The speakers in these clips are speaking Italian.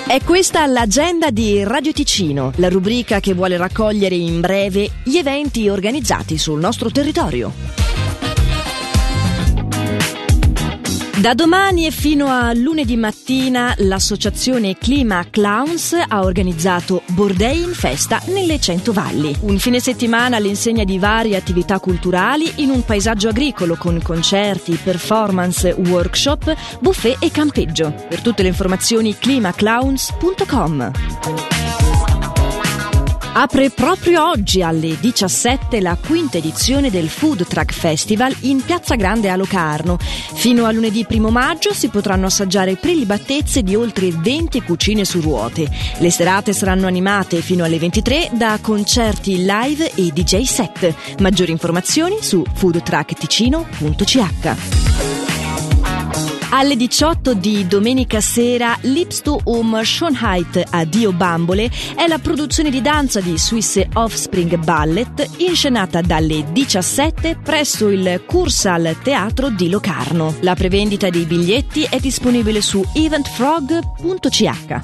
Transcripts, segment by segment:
È questa l'agenda di Radio Ticino, la rubrica che vuole raccogliere in breve gli eventi organizzati sul nostro territorio. Da domani e fino a lunedì mattina l'associazione Clima Clowns ha organizzato Bordei in festa nelle 100 Valli. Un fine settimana all'insegna di varie attività culturali in un paesaggio agricolo con concerti, performance, workshop, buffet e campeggio. Per tutte le informazioni climaclowns.com. Apre proprio oggi alle 17 la quinta edizione del Food Truck Festival in Piazza Grande a Locarno. Fino a lunedì 1 maggio si potranno assaggiare prelibatezze di oltre 20 cucine su ruote. Le serate saranno animate fino alle 23 da concerti live e DJ set. Maggiori informazioni su foodtruckticino.ch. Alle 18 di domenica sera Lips to Schönheit Addio Bambole è la produzione di danza di Swiss Offspring Ballet inscenata dalle 17 presso il Cursal Teatro di Locarno. La prevendita dei biglietti è disponibile su eventfrog.ch.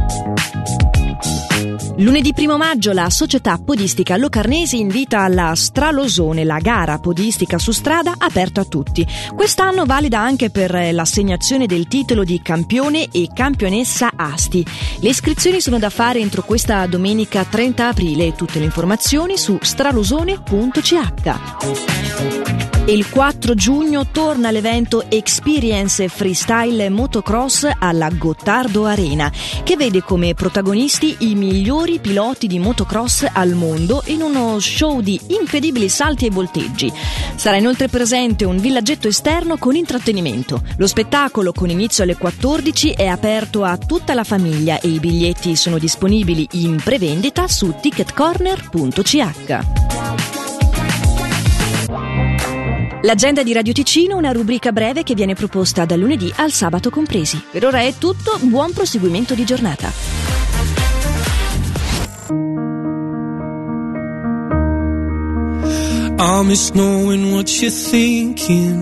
Lunedì 1 maggio la società podistica locarnese invita alla Stralosone, la gara podistica su strada aperta a tutti. Quest'anno valida anche per l'assegnazione del titolo di campione e campionessa Asti. Le iscrizioni sono da fare entro questa domenica 30 aprile. Tutte le informazioni su stralosone.ch. Il 4 giugno torna l'evento Experience Freestyle Motocross alla Gottardo Arena, che vede come protagonisti i migliori piloti di motocross al mondo in uno show di incredibili salti e volteggi. Sarà inoltre presente un villaggetto esterno con intrattenimento. Lo spettacolo, con inizio alle 14, è aperto a tutta la famiglia e i biglietti sono disponibili in prevendita su ticketcorner.ch. L'agenda di Radio Ticino, una rubrica breve che viene proposta dal lunedì al sabato compresi. Per ora è tutto, buon proseguimento di giornata. I miss knowing what you're thinking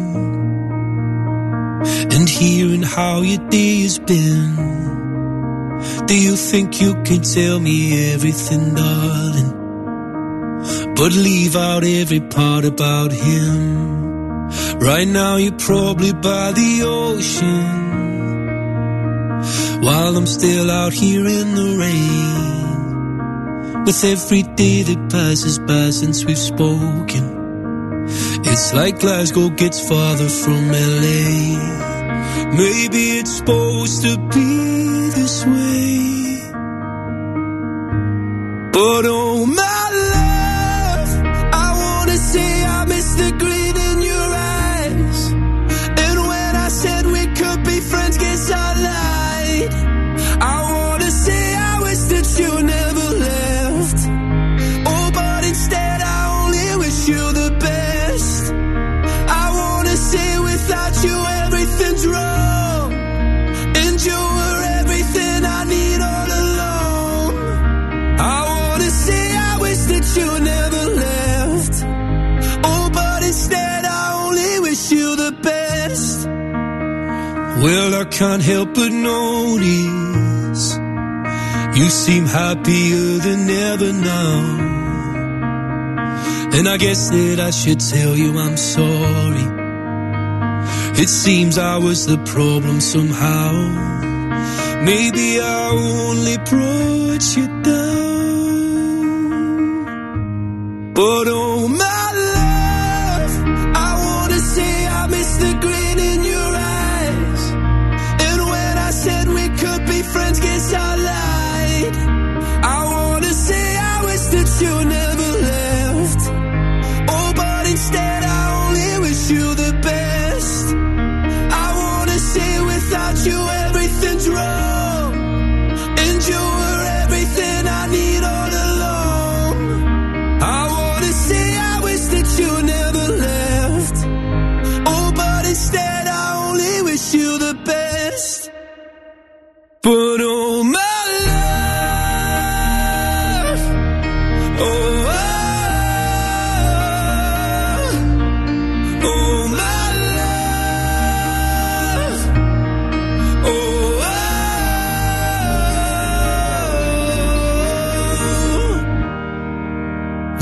and hearing how your day has been. Do you think you can tell me everything, darling, but leave out every part about him? Right now you're probably by the ocean, while I'm still out here in the rain. With every day that passes by since we've spoken, it's like Glasgow gets farther from LA. Maybe it's supposed to be this way, but oh my love, I wanna say I miss the grin in your eyes, and when I said we could be friends, guess I lied. I wanna say I wish that you never left, oh but instead I only wish you the best. I wanna say without you everything's wrong, and you were everything I need all along. I wanna say I wish that you never left, oh but instead I only wish you the best. Well, I can't help but notice you seem happier than ever now, and I guess that I should tell you I'm sorry. It seems I was the problem somehow. Maybe I only brought you down, but oh my love, I wanna say I miss the grin in your eyes, and when I said we could be friends, guess I lied. I wanna say I wish that you never left, oh but instead I only wish you the best. I wanna say without you everything's wrong, and you were everything I need all along. I wanna say I wish that you never left, oh but instead I only wish you the best. But oh my love, oh, oh my love, oh,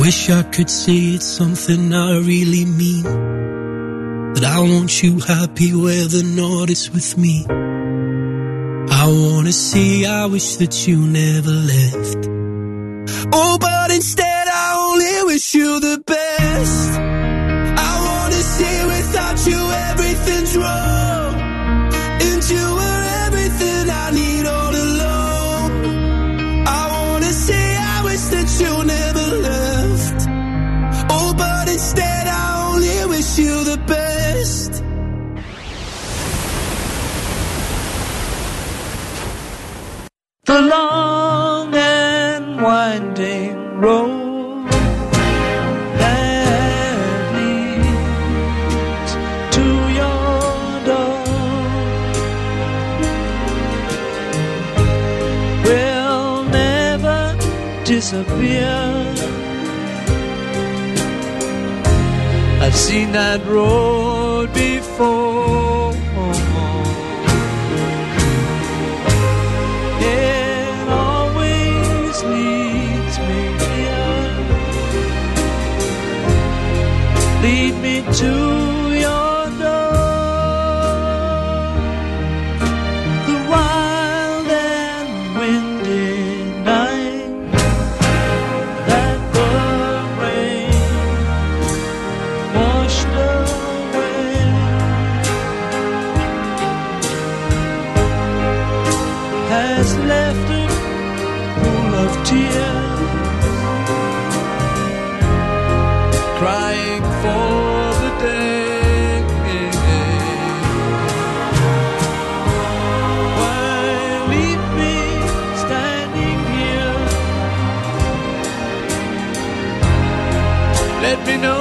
wish I could say it's something I really mean, that I want you happy where the north is with me. I wanna say I wish that you never left. Oh, but instead I only wish you the best. I wanna say without you everything's wrong, and you were everything I need all along. I wanna say I wish that you never left. Oh, but instead I only wish you the best. The long and winding road that leads to your door will never disappear. I've seen that road before. It always leads me here. Lead me to your door. The wild and windy night that the rain washed away has left a pool of tears, crying for the day. Why leave me standing here? Let me know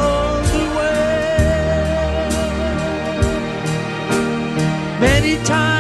the way. Many times